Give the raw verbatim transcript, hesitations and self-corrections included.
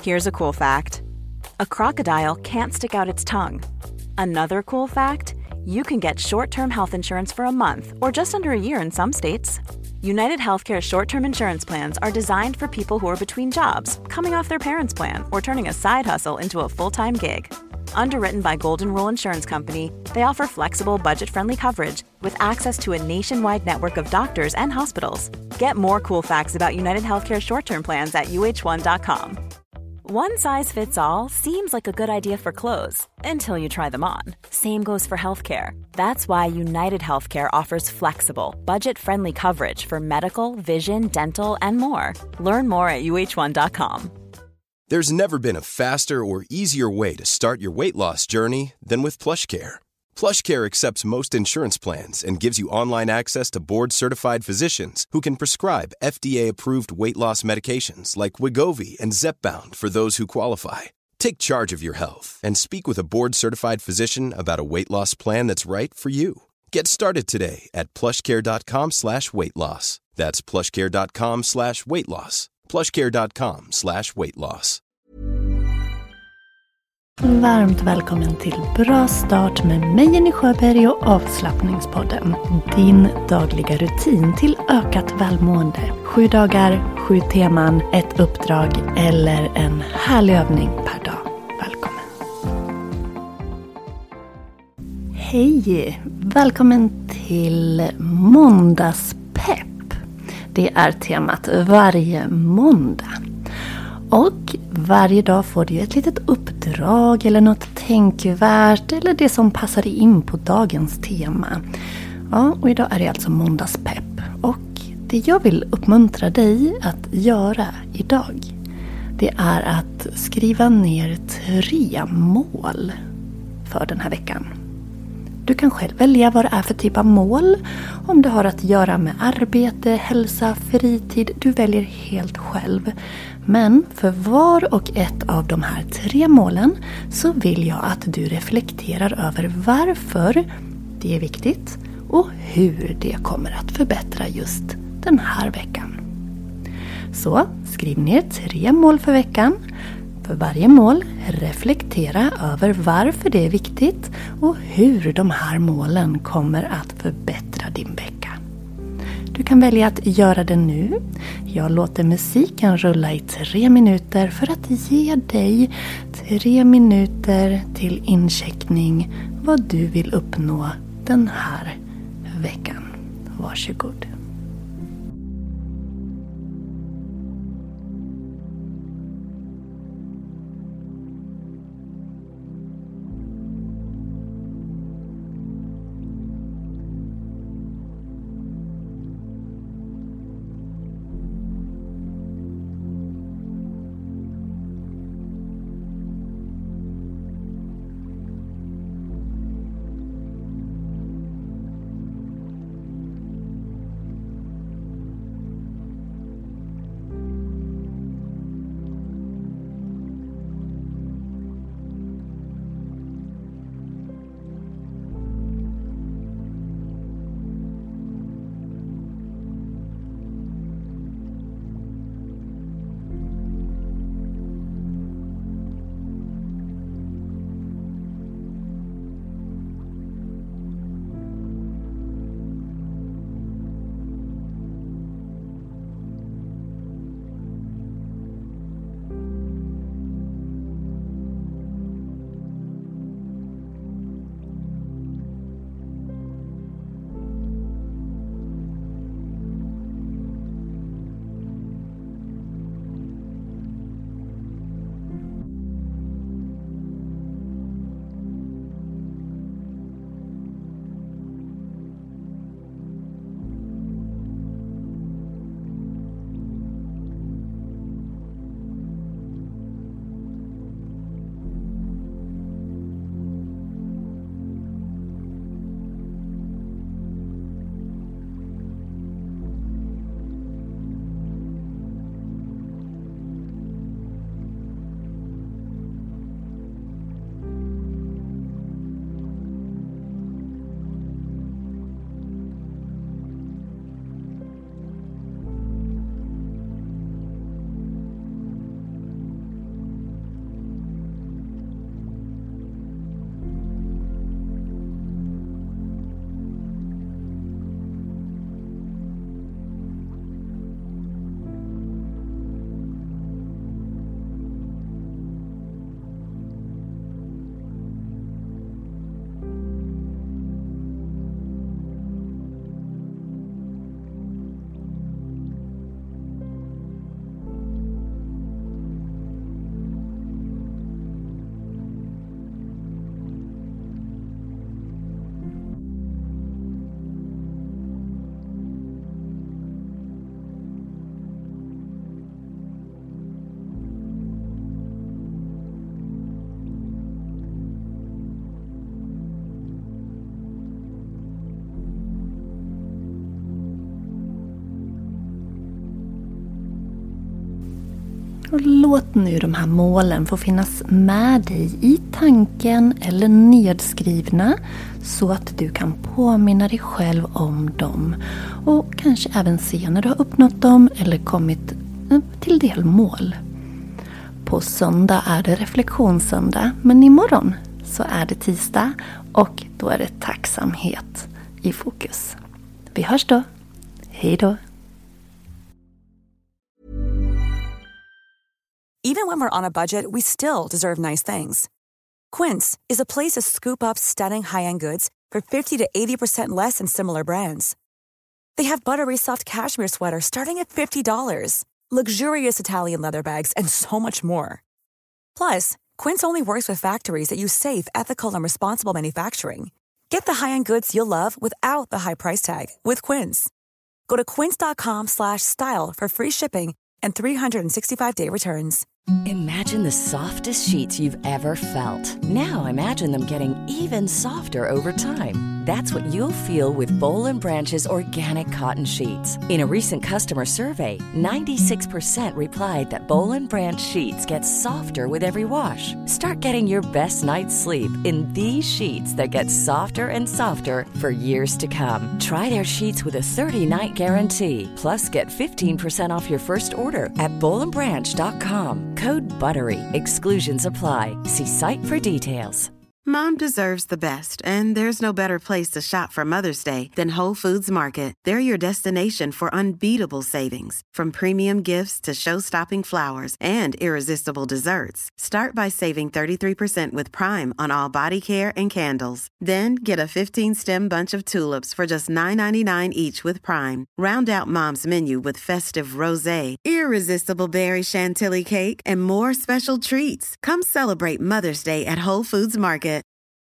Here's a cool fact. A crocodile can't stick out its tongue. Another cool fact, you can get short-term health insurance for a month or just under a year in some states. United Healthcare short-term insurance plans are designed for people who are between jobs, coming off their parents' plan, or turning a side hustle into a full-time gig. Underwritten by Golden Rule Insurance Company, they offer flexible, budget-friendly coverage with access to a nationwide network of doctors and hospitals. Get more cool facts about United Healthcare short-term plans at U H one dot com. One size fits all seems like a good idea for clothes until you try them on. Same goes for healthcare. That's why United Healthcare offers flexible, budget-friendly coverage for medical, vision, dental, and more. Learn more at U H one dot com. There's never been a faster or easier way to start your weight loss journey than with PlushCare. PlushCare accepts most insurance plans and gives you online access to board-certified physicians who can prescribe F D A-approved weight loss medications like Wegovy and Zepbound for those who qualify. Take charge of your health and speak with a board-certified physician about a weight loss plan that's right for you. Get started today at plushcare.com slash weight loss. That's plushcare.com slash weight loss. plushcare.com slash weight loss. Varmt välkommen till Bra start med mig Jenny Sjöberg och Avslappningspodden. Din dagliga rutin till ökat välmående. Sju dagar, sju teman, ett uppdrag eller en härlig övning per dag. Välkommen. Hej! Välkommen till måndagspepp. Det är temat varje måndag. Och varje dag får du ett litet uppdrag eller något tänkvärt eller det som passar in på dagens tema. Ja, och idag är det alltså måndagspepp. Och det jag vill uppmuntra dig att göra idag, det är att skriva ner tre mål för den här veckan. Du kan själv välja vad det är för typ av mål. Om det har att göra med arbete, hälsa, fritid. Du väljer helt själv. Men för var och ett av de här tre målen så vill jag att du reflekterar över varför det är viktigt och hur det kommer att förbättra just den här veckan. Så skriv ner tre mål för veckan. För varje mål, reflektera över varför det är viktigt och hur de här målen kommer att förbättra din vecka. Du kan välja att göra det nu. Jag låter musiken rulla i tre minuter för att ge dig tre minuter till incheckning vad du vill uppnå den här veckan. Varsågod. Och låt nu de här målen få finnas med dig i tanken eller nedskrivna så att du kan påminna dig själv om dem. Och kanske även se när du har uppnått dem eller kommit till delmål. På söndag är det reflektionssöndag, men imorgon så är det tisdag och då är det tacksamhet i fokus. Vi hörs då. Hej då! Even when we're on a budget, we still deserve nice things. Quince is a place to scoop up stunning high-end goods for fifty to eighty percent less than similar brands. They have buttery soft cashmere sweaters starting at fifty dollars, luxurious Italian leather bags, and so much more. Plus, Quince only works with factories that use safe, ethical, and responsible manufacturing. Get the high-end goods you'll love without the high price tag with Quince. Go to quince.com slash style for free shipping and three sixty-five day returns. Imagine the softest sheets you've ever felt. Now imagine them getting even softer over time. That's what you'll feel with Boll and Branch's organic cotton sheets. In a recent customer survey, ninety-six percent replied that Boll and Branch sheets get softer with every wash. Start getting your best night's sleep in these sheets that get softer and softer for years to come. Try their sheets with a thirty night guarantee. Plus, get fifteen percent off your first order at boll and branch dot com. Code BUTTERY. Exclusions apply. See site for details. Mom deserves the best, and there's no better place to shop for Mother's Day than Whole Foods Market. They're your destination for unbeatable savings, from premium gifts to show-stopping flowers and irresistible desserts. Start by saving thirty-three percent with Prime on all body care and candles. Then get a fifteen stem bunch of tulips for just nine ninety-nine each with Prime. Round out Mom's menu with festive rosé, irresistible berry chantilly cake, and more special treats. Come celebrate Mother's Day at Whole Foods Market.